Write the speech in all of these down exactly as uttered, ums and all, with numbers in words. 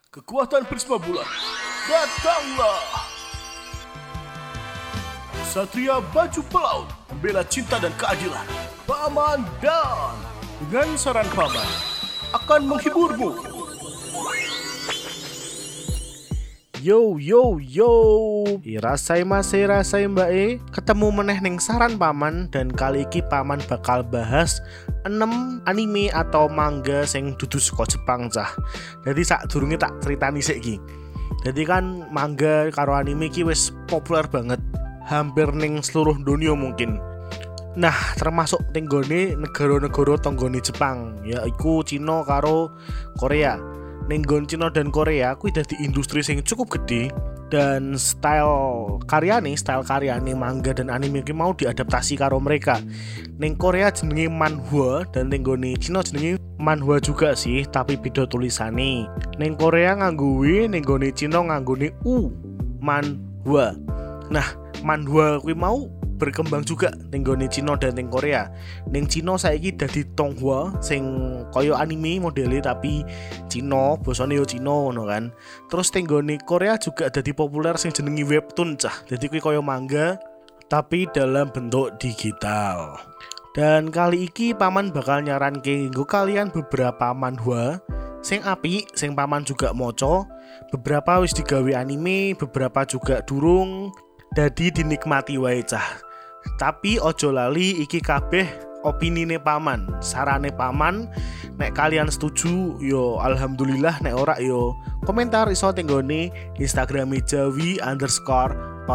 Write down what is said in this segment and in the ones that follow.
Kekuatan Prisma Bulan, datanglah! Satria baju pelaut, membela cinta dan keadilan. Paman Dan, dengan saran Paman, akan menghiburmu. Yo yo yo, rasai mas rasai mbak e, ketemu meneh ning saran Paman, dan kali iki Paman bakal bahas enam anime atau manga sing dudu saka Jepang cah. Jadi sadurunge tak critani sik iki. Jadi kan manga karo anime iki wis populer banget, hampir ning seluruh dunia mungkin. Nah, termasuk tenggone negara-negara tonggone Jepang, yaiku Cina karo Korea. Nenggon Cina dan Korea kuwi dadi industri sing cukup gede, dan style karyane, style karyane manga dan anime iki mau diadaptasi karo mereka. Neng Korea jenenge manhwa dan nenggone Cina jenenge manhwa juga sih, tapi beda tulisane. Neng Korea nganggo W, nenggone Cina nganggone U, manhwa. Nah, manhwa kuwi mau berkembang juga ning gone Cina dan ning Korea. Ning Cina saiki dadi tonghua sing kaya anime modele tapi Cina, basane yo Cina ngono kan. Terus ning gone Korea juga dadi populer sing jenenge webtoon cah. Dadi kuwi kaya manga tapi dalam bentuk digital. Dan kali iki Paman bakal nyaranke nggo kalian beberapa manhwa sing apik, sing Paman juga maca. Beberapa wis digawe anime, beberapa juga durung. Dadi dinikmati wae cah. Tapi ojo lali iki kabeh opinine Paman, sarane Paman. Nek kalian setuju yo alhamdulillah, nek ora yo komentar iso tenggone Instagram Jawi underscore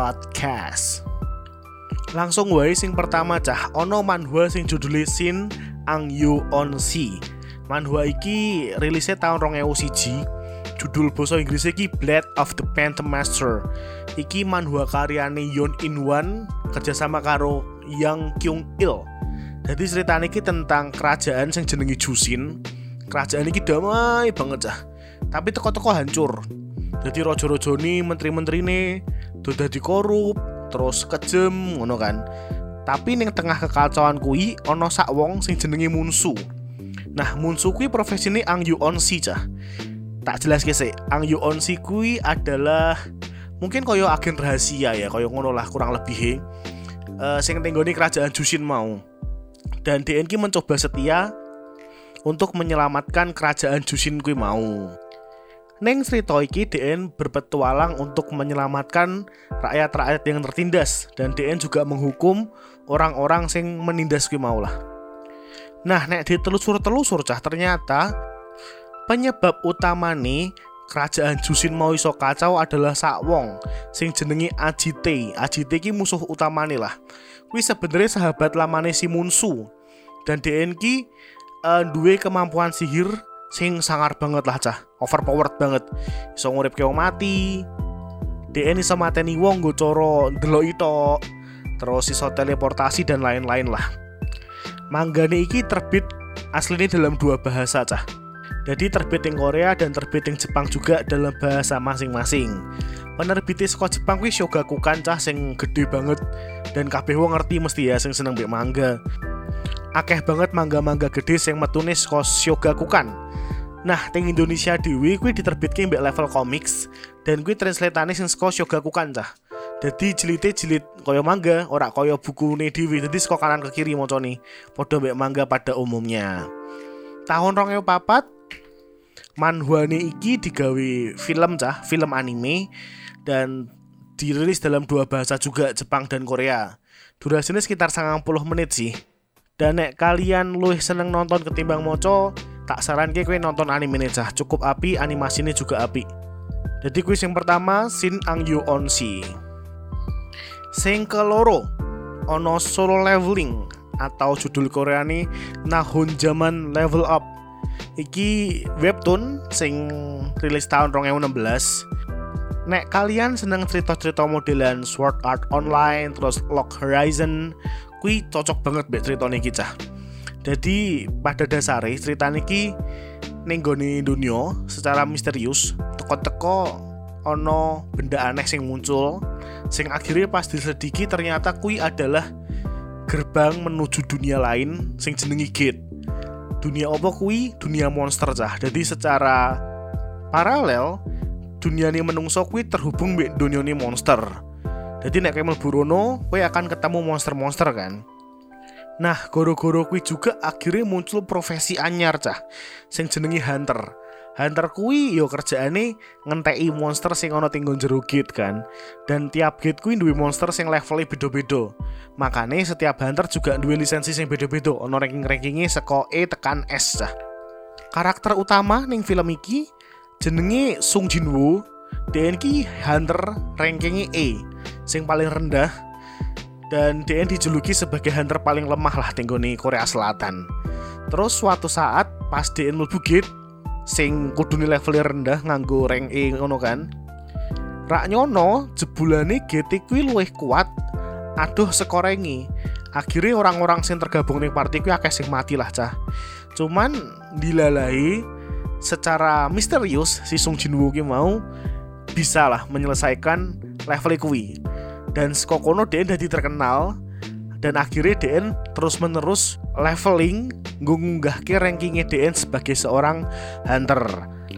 podcast. Langsung wae sing pertama cah, ono manhwa sing judule Shin Angyu Onshi. Manhwa iki rilisnya tahun rong ewu siji. Judul basa Inggris iki Blade of the Phantom Master. Iki manhwa karyane Yoon In Wan kerjasama karo Yang Kyung Il. Jadi ceritane iki tentang kerajaan sing jenenge Jushin. Kerajaan iki damai banget cah, tapi teko-teko hancur. Jadi raja-rajane, menteri-menterine do dadi korup, terus kejem ngono kan. Tapi ning tengah kekacauan kuwi ana sak wong sing jenenge Munsu. Nah, Munsu kuwi profesine Angyu Onshi cah. Tak jelas sih, Angyu Onshi kuwi adalah mungkin koyo agen rahasia ya, koyo ngono lah kurang lebih. Uh, sing tenggone kerajaan Jushin mau. Dan D N ki mencoba setia untuk menyelamatkan kerajaan Jushin kuwi mau. Neng cerita iki D N berpetualang untuk menyelamatkan rakyat-rakyat yang tertindas, dan D N juga menghukum orang-orang sing menindas kuwi mau lah. Nah, nek ditelusur-telusur cah, ternyata penyebab utama nih kerajaan Jushin mau iso kacau adalah sak wong sing jenenge Ajite. Ajite ki musuh utamane lah. Kuwi sebenarnya sahabat lamane si Munsu. Dan D N ki uh, duwe kemampuan sihir sing sangar banget lah cah. Overpowered banget. Iso nguripke wong mati. D N iso mateni wong nggo cara ndeloki tok. Terus iso teleportasi dan lain-lain lah. Manggane iki terbit asline dalam dua bahasa cah. Jadi terbit yang Korea dan terbit yang Jepang juga dalam bahasa masing-masing. Penerbitnya saka Jepang kuwi Shogakukan cah, sing gede banget, dan kabeh wong ngerti mesti ya sing seneng mbek manga. Akeh banget manga-manga gede sing metune saka Shogakukan. Nah, teng Indonesia dhewe kuwi diterbitke mbek Level Comics, dan kuwi translate-ane sing saka Shogakukan cah. Jadi jilite jilid kaya manga, ora kaya bukune dhewe. Dadi saka kanan ke kiri macane, padha mbek manga pada umumnya. Tahun rong ewu papat manhwane iki digawe film cah, film anime, dan dirilis dalam dua bahasa juga, Jepang dan Korea. Durasinya sekitar sembilan puluh menit sih. Dan nek kalian luwih seneng nonton ketimbang moco, tak saranke kowe nonton anime cah, cukup api, animasinya juga api. Jadi kuis yang pertama Shin Angyu Onshi. Sing keloro ono Solo Leveling atau judul Koreane Nahon Jaman Level Up. Iki webtoon sing rilis tahun rong ewu enam belas. Nek kalian seneng cerita-cerita modelan Sword Art Online terus Log Horizon, kuwi cocok banget mbek ceritane iki cah. Jadi pada dasare ceritane iki ning gone dunya secara misterius, teko-teko ono benda aneh sing muncul, sing akhirnya pas diselidiki ternyata kuwi adalah gerbang menuju dunia lain sing jenenge Gate. Dunia apa kuwi? Dunia monster cah. Jadi secara paralel duniane menungso kuwi terhubung mbek donyane monster. Jadi nek kowe mlebu rono, kowe akan ketemu monster-monster kan. Nah, goro-goro kuwi juga akhirnya muncul profesi anyar cah, sing jenenge hunter. Hunter kuwi yo kerjaane ngenteki monster sing ana tinggo jero gate kan. Dan tiap gate kuwi duwe monster sing levelnya beda-beda. Makane setiap hunter juga duwe lisensi sing beda-beda, ana ranking-rankinge saka E tekan S cah. Karakter utama ning film iki jenenge Sung Jin Woo. D N ki hunter rankingnya E, sing paling rendah. Dan D N dijuluki sebagai hunter paling lemah lah tenggone Korea Selatan. Terus suatu saat pas D N mlebu gate sing kudune levelnya rendah nganggo rank E ngono kan. Rak nyono jebulane gate kuwi luwih kuat aduh sekorengi. Akhirnya orang-orang sing tergabung ning party kuwi akeh sing mati lah cah. Cuman dilalai secara misterius si Sung Jin Woo ki mau bisa lah menyelesaikan level kuwi. Dan sekokono D N jadi terkenal. Dan akhirnya D N terus menerus leveling ngunggahke rankingnya D N sebagai seorang hunter.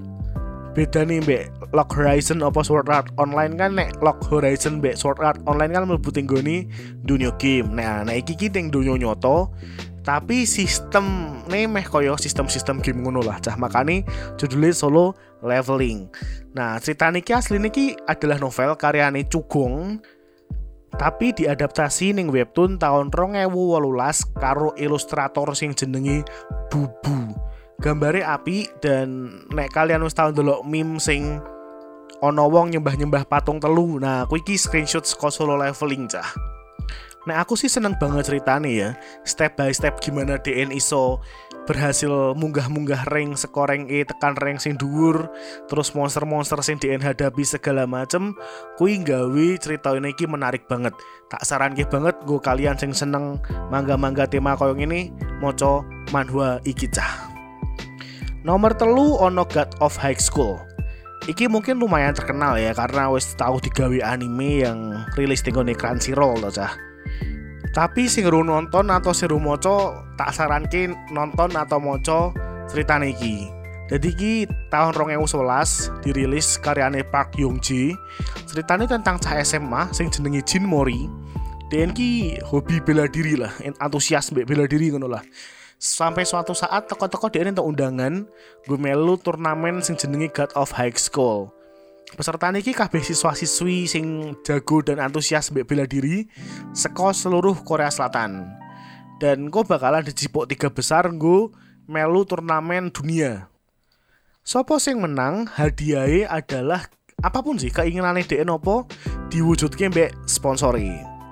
Beda nih mbek Log Horizon apa Sword Art Online kan, nek Log Horizon mbek Sword Art Online kan mlebu tinggoni dunia game. Nah, nah iki ki ning dunia nyoto tapi sistem nih meh koyo sistem-sistem game ngono lah cah, makane judulnya solo leveling. Nah, cerita niki asli niki adalah novel karyane Cugong tapi diadaptasi ning webtoon tahun dua ribu delapan belas karo ilustrator sing jenenge Bubu. Gambare apik dan nek kalian wis tau ndelok meme sing ana wong nyembah-nyembah patung telu. Nah, kuwi iki screenshot saka solo leveling cah. Nek aku sih seneng banget ceritane ya. Step by step gimana D N iso berhasil munggah-munggah rank saka rank E tekan rank sing dhuwur, terus monster-monster sing D N hadapi segala macem, kuwi gawe cerita ini iki menarik banget. Tak saranke banget nggo kalian sing seneng mangga-mangga tema koyo ngene maca manhwa iki cah. Nomor telu ono God of High School. Iki mungkin lumayan terkenal ya karena wis tau digawe anime yang rilis di Crunchyroll to cah. Tapi sing ru nonton atau sing ru maca tak saranke nonton atau maca ceritane iki. Jadi iki tahun dua ribu sebelas dirilis karyane Park Young Jae. Ceritane tentang cah S M A sing jenenge Jin Mori. D N ki hobi bela diri lah, antusias mbek bela diri ngono lah. Sampai suatu saat teko-teko D N entuk undangan gue melu turnamen sing jenenge God of High School. Peserta niki kabeh siswa-siswi sing jago dan antusias mbek bela diri saka seluruh Korea Selatan. Dan gue bakalan dijipuk tiga besar gue melu turnamen dunia. Sopo sing menang hadiahe adalah apapun sih keinginane D N opo diwujudke mbek sponsori.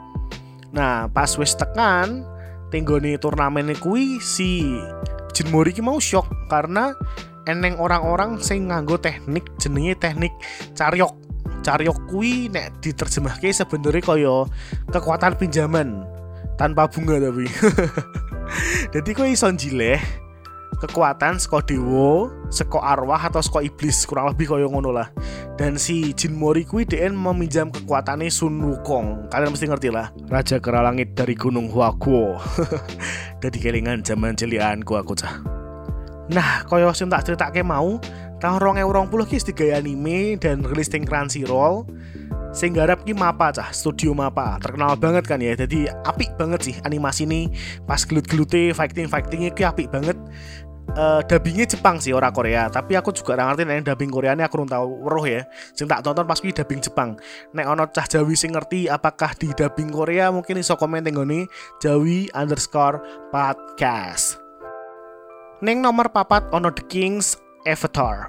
Nah, pas wis tekan tenggone turnamen kuwi si Jin Mori ki mau shock karena eneng orang-orang sing nganggo teknik jenenge teknik caryok. Caryok kuwi nek diterjemahke sebenarnya kaya kekuatan pinjaman tanpa bunga tapi. Jadi kowe iso njileh kekuatan saka dewa, saka arwah atau saka iblis, kurang lebih kaya ngono lah. Dan si Jin Mori kuwi D N meminjam kekuatane Sun Wukong. Kalian mesti ngerti lah, raja kera langit dari gunung Hwaguo. Dadi kelingan zaman cilikanku aku cah. Nah, kaya sing tak critake mau, tahun dua ribu dua puluh ki digawe anime dan rilis ning Crunchyroll. Sing garap ki Mappa cah, studio Mappa. Terkenal banget kan ya. Jadi apik banget sih animasi ini. Pas gelut-gelute fighting-fightingnya ki apik banget. Uh, dubbingnya Jepang sih ora Korea, tapi aku juga ora ngerti nek dubbing Koreane aku urung tau weruh ya. Sing tak tonton pas kuwi dubbing Jepang. Nek ana cah Jawi sing ngerti apakah di dubbing Korea mungkin iso komen tenggone Jawi underscore podcast. Ning nomor papat ono The King's Avatar.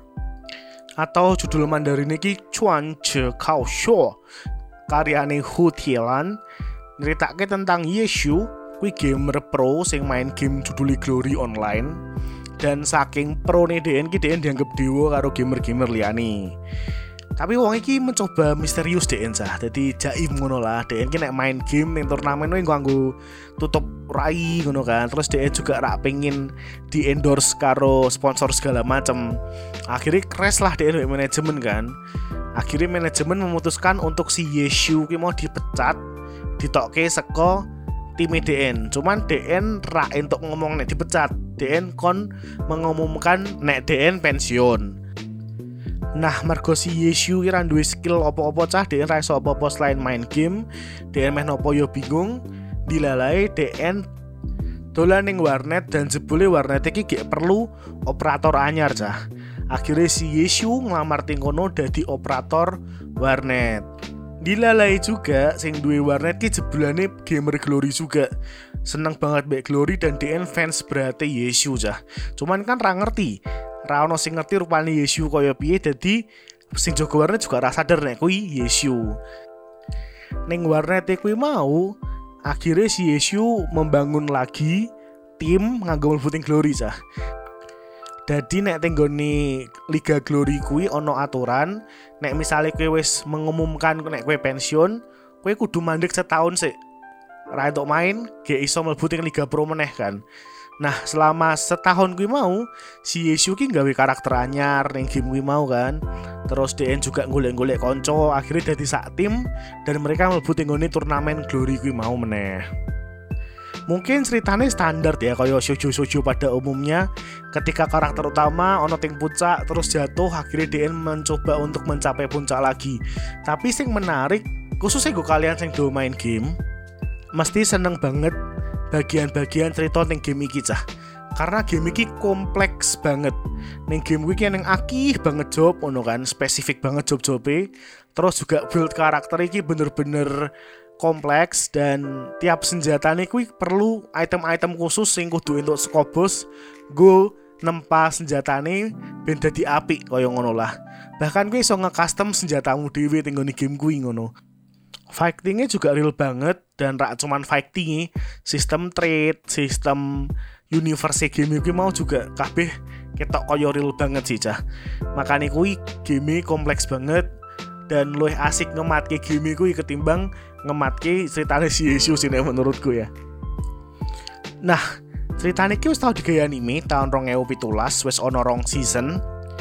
Atau judul Mandarin iki Chuan Che Kao Shuo. Karyane Hu Tielan. Nyeritake tentang Yeshu, kuwi gamer pro sing main game judulnya Glory Online. Dan saking pro nih D N ki D N dianggap dewa karo gamer-gamer liyane. Tapi wong iki mencoba misterius D N sah. Jadi jaim ngono lah. D N ki nek main game ning turnamen kuwi nganggo tutup rai ngono kan. Terus D N juga rak pengin di endorse karo sponsor segala macem. Akhirnya crash lah D N manajemen kan. Akhirnya manajemen memutuskan untuk si Yeshu ki mau dipecat, ditokke saka tim D N. Cuman D N ra entuk ngomong nek dipecat. D N kon mengumumkan nek D N pensiun. Nah, mergo si Yeshu ki ra duwe skill apa-apa cah, dhek ra iso apa-apa selain main game. Dhek meh nopo yo bingung. Dilalae dhek dolan ning warnet dan jebule warnet iki gak perlu operator anyar cah. Akhirnya si Yeshu ngelamar ting kono dadi operator warnet. Dilalai juga sing duwe warnet ki jebulane gamer Glory juga. Seneng banget mbek Glory dan D N fans berate Yeshu cah. Cuman kan ra ngerti, ra ono sing ngerti rupane Yeshu kaya piye, dadi sing jaga warnet juga ra sadar nek kuwi Yeshu. Ning warnet kuwi mau akhirnya si Yeshu membangun lagi tim nganggo mlebu Glory cah. Dadi nek tenggone Liga Glory kuwi ono aturan, nek misale kowe wis mengumumkan nek kowe pensiun, kowe kudu mandek setahun sik. Ra entuk main, gak iso mlebu ning Liga Pro meneh kan. Nah, selama setahun kuwi mau, si Yeshu ki gawe karakter anyar ning game kuwi mau kan. Terus D N juga golek-golek konco, akhirnya dadi sak tim dan mereka mlebu ning turnamen Glory kuwi mau meneh. Mungkin ceritanya standar ya, kayak shoujo-shoujo pada umumnya. Ketika karakter utama ono ting puncak terus jatuh, akhirnya D N mencoba untuk mencapai puncak lagi. Tapi sing menarik, khususnya gue kalian sing do main game, mesti seneng banget bagian-bagian cerita ning game iki cah. Karena game iki kompleks banget. Ning game iki ning akih banget job ono kan, spesifik banget job-jobe. Terus juga build karakter iki bener-bener kompleks dan tiap senjatane kuwi perlu item-item khusus sing kudu entuk saka bos go nempa senjatane ben dadi apik kaya ngono lah. Bahkan kuwi iso nge-custom senjatamu dhewe ning game kuwi ngono. Fightingnya juga real banget dan rak cuman fighting, sistem trade, sistem universe game kuwi mau juga kabeh ketok kaya real banget sih cah. Makane kuwi game kompleks banget dan luwih asik ngematke game kuwi ketimbang ngematke ceritane si Yeshu sih menurutku ya. Nah, ceritane iki wis tau digawe anime tahun dua ribu tujuh belas, wis ono rong season.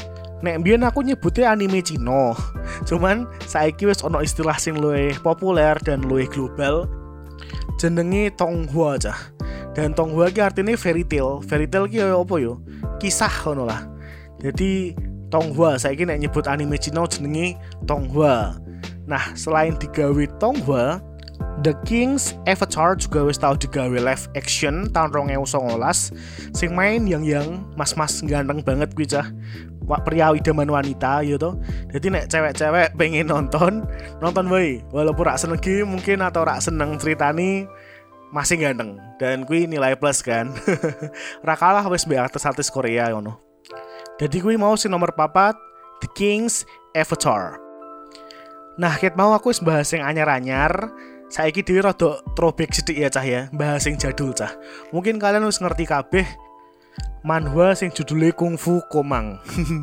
Nek mbiyen aku nyebutnya anime Cina. Cuman saiki wis ono istilah sing luwih populer dan luwih global. Jenenge Tonghua cah. Dan Tonghua ki artine fairy tale. Fairy tale ki apa yo? Kisah ngono lah. Jadi Tonghua saiki nek nyebut anime Cina jenenge Tonghua. Nah, selain digawe Tonghua, The King's Avatar juga wis tau digawe live action tahun dua ribu sembilan belas. Sing main yang-yang mas-mas ganteng banget kuwi cah. Wak pria idaman wanita ya toh. Jadi nek cewek-cewek pengen nonton, nonton wae. Walaupun rak seneng game mungkin atau rak seneng ceritane, masih ganteng dan kuwi nilai plus kan. Ra kalah wis mbek artis-artis Korea ngono. Jadi kuwi mau si nomor papat The King's Avatar. Nah, ket mau aku wis bahas sing anyar-anyar. Saiki dhewe rada throwback sithik ya cah ya, bahas sing jadul cah. Mungkin kalian wis ngerti kabeh manhwa sing judulnya Kung Fu Komang.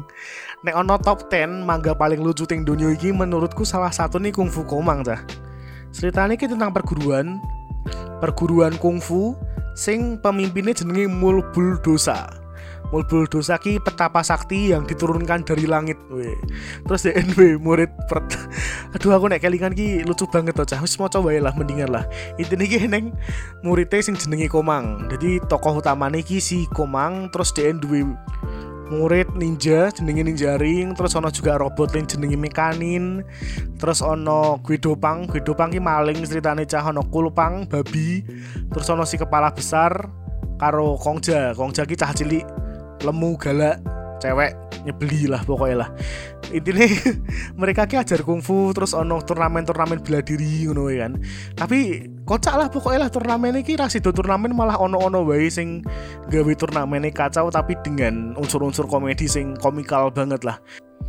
Nek ono top sepuluh manga paling lucu ting dunia iki menurutku salah satu nih Kung Fu Komang cah. Ceritanya iki tentang perguruan perguruan kungfu sing pemimpinnya jenenge Mulbul Dosa. Mulbul Dosa ki petapa sakti yang diturunkan dari langit. Weh. Terus D N W murid per... Aduh aku nek kelingan ki lucu banget to cah. Wis maca wae lah mendingan lah. Intine ki neng muridé sing jenenge Komang. Jadi tokoh utamane ki si Komang, terus D N W murid ninja jenenge Ninja Ring, terus ono juga robot lain jenenge Mekanin, terus ono Guedopang, Guedopang ki maling ceritane cah, ono Kulpang babi, terus ono si kepala besar karo Kongja, Kongja ki cah cilik lemu galak cewek nyebeli lah pokoknya lah. Intinya mereka ki ajar kungfu, terus ono turnamen-turnamen bela diri ngono kan. Tapi kocak lah pokoknya lah turnamen iki ra sido turnamen malah ono-ono wae sing gawe turnamene kacau tapi dengan unsur-unsur komedi sing komikal banget lah.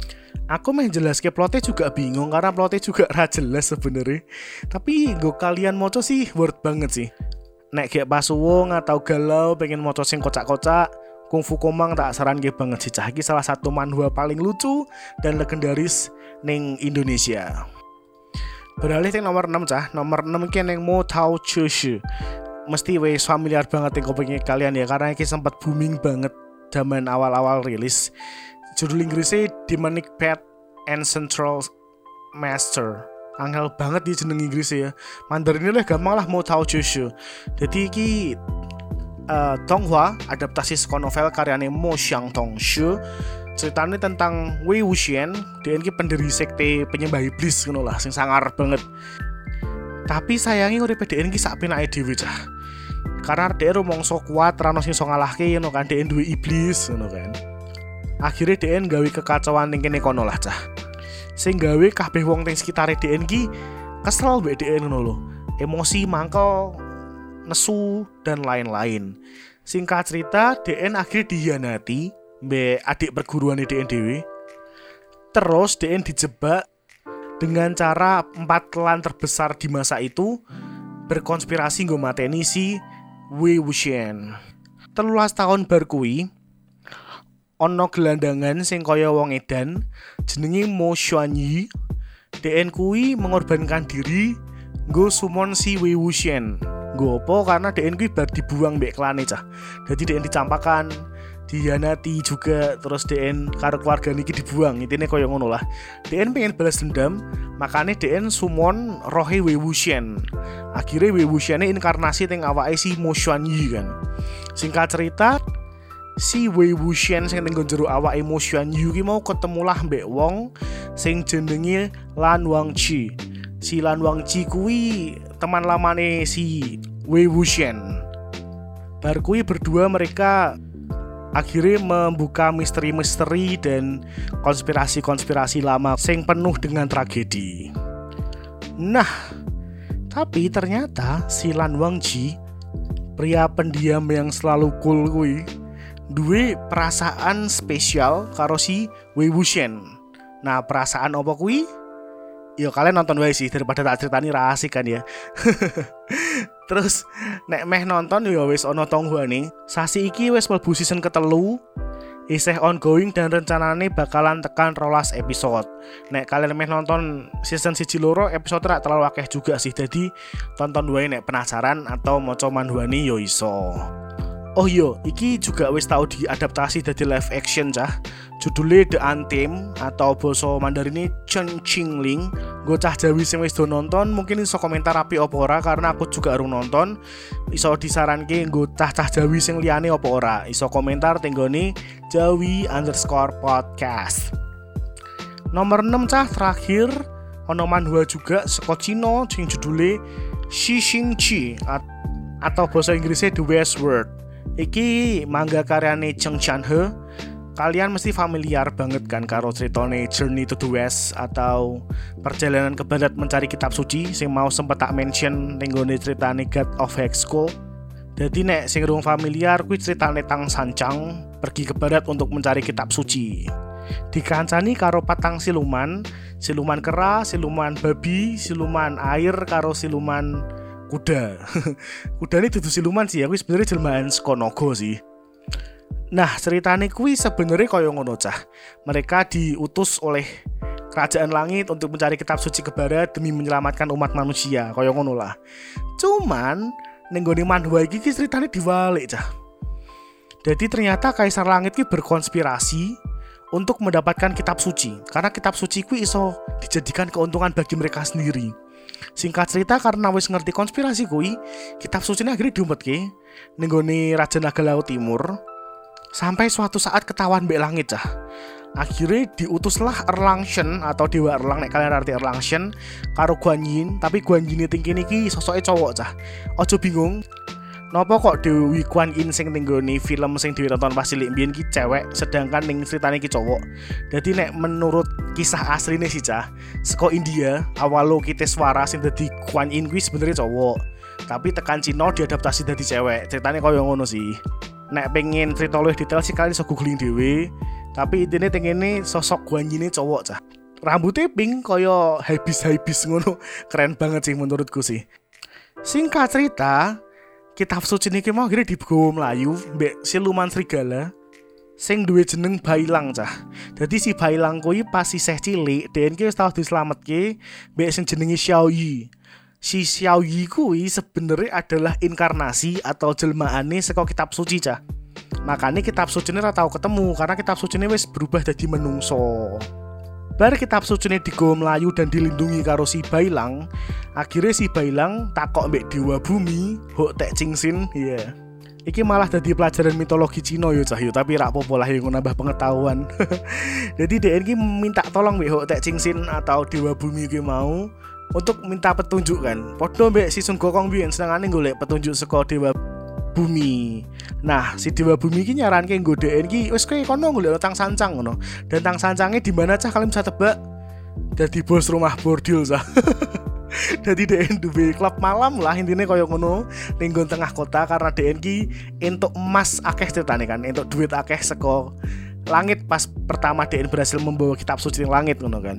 Aku meh jelaske plotnya juga bingung karena plotnya juga ra jelas sebenarnya. Tapi nggo kalian moco sih worth banget sih. Nek gek pas wong atau galau pengen moco sing kocak-kocak, Kung Fu Komang tak saranke banget sih cah. Iki salah satu manhwa paling lucu dan legendaris ning Indonesia. Beralih ke nomor enam cah. Nomor enam ki ning Mo Tao Chu Shi. Mesti wis familiar banget yang kopengnya kalian ya, karena iki sempat booming banget zaman awal-awal rilis. Judul Inggrisnya Demonic Path and Central Master. Angel banget di jeneng Inggrisnya ya. Mandarinnya lah gampang lah, Mo Tao Chu Shi. Jadi iki Uh, Tonghua adaptasi saka novel karyane Mo Xiangtong Shu Ceritanya tentang Wei Wuxian, D N ki pendiri sekte penyembah iblis ngono lah, sing sangar banget. Tapi sayangi uripe D N ki sak penake dhewe cah. Karena D N rumangsa kuat ra ono sing iso ngalahke ngono kan, D N duwe iblis ngono kan. Akhirnya D N gawe kekacauan ning kene kono lah cah. Sing gawe kabeh wong ning sekitare D N ki kesel mbek D N ngono lho. Emosi, mangkel, nesu dan lain-lain. Singkat cerita, D N akhirnya dihianati mbek adik perguruan D N dhewe. Terus D N dijebak dengan cara empat klan terbesar di masa itu berkonspirasi nggo mateni si Wei Wuxian. telulas tahun bar kuwi ana gelandangan sing kaya wong edan jenenge Mo Xuanyi. D N kuwi mengorbankan diri nggo summon si Wei Wuxian. Nggo apa? Karena D N kuwi bar dibuang mbek klane cah. Dadi D N dicampakan, dihianati juga, terus D N karo keluarga niki dibuang. Intine kaya ngono lah. D N pengen balas dendam, makane D N summon rohe Wei Wuxian. Akhirnya Wei Wuxian inkarnasi teng awake si Mo Xuanyi kan. Singkat cerita, si Wei Wuxian sing ning jero awake Mo Xuanyi ki mau ketemulah mbek wong sing jenenge Lan Wangji. Si Lan Wangji kuwi teman lamane si Wei Wuxian. Bar kuwi berdua mereka akhirnya membuka misteri-misteri dan konspirasi-konspirasi lama sing penuh dengan tragedi. Nah, tapi ternyata si Lan Wangji, pria pendiam yang selalu cool kuwi, duwe perasaan spesial karo si Wei Wuxian. Nah, perasaan apa kuwi? Yo kalian nonton wae sih daripada tak ceritani ra asik kan ya. Terus nek meh nonton ya wis ana tonggoane. Sasi iki wis mlebu season ketelu, isih ongoing dan rencanane bakalan tekan rolas episode. Nek kalian meh nonton season siji loro episode ra terlalu akeh juga sih. Jadi tonton wae nek penasaran atau maca manhwane yo iso. Oh iya, iki juga wis tau diadaptasi dadi live action cah. Judulnya The Untamed atau basa Mandarinnya Chen Qingling. Gue cah Jawi sing wis do nonton mungkin iso komentar api apa ora, karena aku juga urung nonton. Iso disaranke nggo cah-cah Jawi sing liyane apa ora. Iso komentar tenggone Jawi underscore podcast. Nomor enam cah terakhir ono manhwa juga saka Cina sing judulnya Shixingqi atau basa Inggrisnya The Westworld. Iki manga karyane Cheng Chan-he. Kalian mesti familiar banget kan karo ceritane Journey to the West atau perjalanan ke barat mencari kitab suci sing mau sempet tak mention ning gone ceritane God of Hexco. Dadi nek sing urung familiar kuwi ceritane Tang Sancang pergi ke barat untuk mencari kitab suci. Dikancani karo patang siluman, siluman kera, siluman babi, siluman air karo siluman kuda. Kuda ini dudu siluman sih, aku sebenarnya jelmaan saka naga sih. Nah, ceritane kuwi sebenarnya kaya ngono cah. Mereka diutus oleh kerajaan langit untuk mencari kitab suci ke barat demi menyelamatkan umat manusia, kaya ngono lah. Cuman ning gone manhwa iki ceritane diwalik cah. Jadi ternyata Kaisar Langit ki berkonspirasi untuk mendapatkan kitab suci, karena kitab suci kuwi iso dijadikan keuntungan bagi mereka sendiri. Singkat cerita, karena wis ngerti konspirasi kuwi, kitab suci ini akhirnya diumpetke ning gone Raja Naga Laut Timur. Sampai suatu saat ketahuan mbek langit cah. Akhirnya diutuslah Erlangsen atau Dewa Erlang, nek kalian arti Erlangsen, karo Guan Yin. Tapi Guan Yin tinggi niki sosoknya cowok cah. Ojo bingung, nopo kok Dewi Guan Yin sing ning gone film sing ditonton pas cilik mbiyen ki cewek, sedangkan ning ceritane ki cowok. Dadi nek menurut kisah asline sih cah, saka India, awalo Kiteswara sing dadi Guan Yin kuwi sebenarnya cowok. Tapi tekan Cina diadaptasi dadi cewek. Ceritane kaya ngono sih. Nek pengen cerita luwih detail sih kalian iso googling dhewe. Tapi intine tengene sosok Guan Yin cowok cah. Rambutnya pink kaya habis-habis ngono. Keren banget sih menurutku sih. Singkat cerita, kitab suci niki mau akhirnya digawa mlayu mbek siluman serigala sing duwe jeneng Bailang cah. Dadi si Bailang kuwi pas isih cilik, D N ki wis tau dislametke mbek sing jenenge Xiaoyi. Si Xiaoyi kuwi sebenarnya adalah inkarnasi atau jelmaane saka kitab suci cah. Makanya kitab suci ini ora tau ketemu karena kitab suci ini wis berubah jadi menungso. Bar kitab suci ini digawa mlayu dan dilindungi karo si Bailang. Akhirnya si Bailang takok mbek Dewa Bumi, Hok Tek Cingsin, ya. Yeah. Iki malah dadi pelajaran mitologi Cina yo cah yo, tapi rak popo lah yo nambah pengetahuan. Jadi D N ki minta tolong mbek Hok Taek Ching-sin atau Dewa Bumi ki mau untuk minta petunjuk kan. Padha mbek si Sun Gokong biyen senengane golek petunjuk saka Dewa Bumi. Nah, si Dewa Bumi ki nyaranke nggo D N ki wis kowe kono golek Tang Sancang ngono. Dan Tang Sancange di mana cah kalian bisa tebak? Dadi bos rumah bordil cah. Jadi D N duwe klub malam lah intine koyo ngono ning tengah kota karena D N ki entuk emas akeh ceritane kan, entuk duit akeh saka langit pas pertama D N berhasil membawa kitab suci ning langit ngono kan.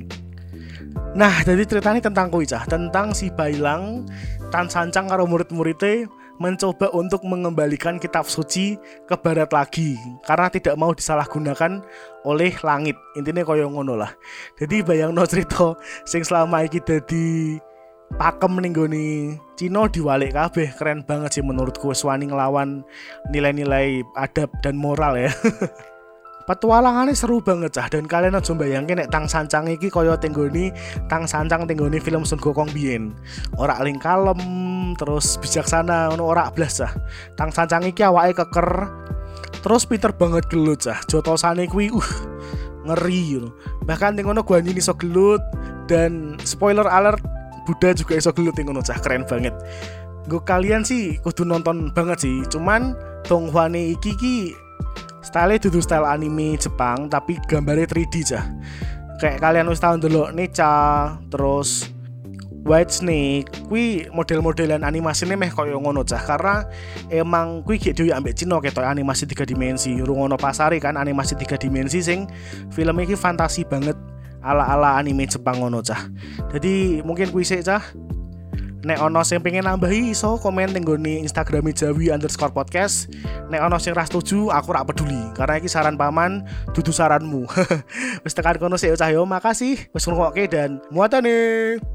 Nah, jadi ceritanya tentang kuwi cah, tentang si Bailang Tang Sancang karo murid-muridnya mencoba untuk mengembalikan kitab suci ke barat lagi karena tidak mau disalahgunakan oleh langit. Intinya koyo ngono lah. Jadi bayangno cerita sing selama iki dadi pakem ning gone Cina diwalik kabeh, keren banget sih menurutku, wis wani nglawan nilai-nilai adab dan moral ya. Petualangannya seru banget cah, dan kalian aja bayangke nek Tang Sancang iki kaya tenggoni Tang Sancang tenggoni film Sun Gokong biyen. Ora ling kalem terus bijaksana ngono ora blas cah. Tang Sancang iki awake keker terus pinter banget gelut cah. Jotosane kuwi uh ngeri ngono. Bahkan ning ngono Guanyin iso gelut dan spoiler alert Buddha juga iso gelut ning ngono cah, keren banget. Nggo kalian sih kudu nonton banget sih. Cuman Donghwane iki ki style dudu style anime Jepang tapi gambarnya tiga D cah. Kayak kalian wis tau ndelok Necha, terus White Snake, kuwi model-modelan animasinya meh koyo ngono cah. Karena emang kuwi gek dhewe ambek Cina ketok animasi tiga dimensi. Rungono pasare kan animasi tiga dimensi sing film iki fantasi banget ala-ala anime Jepang ngono cah. Jadi mungkin kuwi sik cah. Nek ono sing pengen nambahi iso komen ning nggone Instagram Jawi underscore podcast. Nek ono sing ra setuju aku rak peduli karena iki saran paman dudu saranmu. Wis tekan kono sik cah yo, makasih wis ngrungokke dan muatane.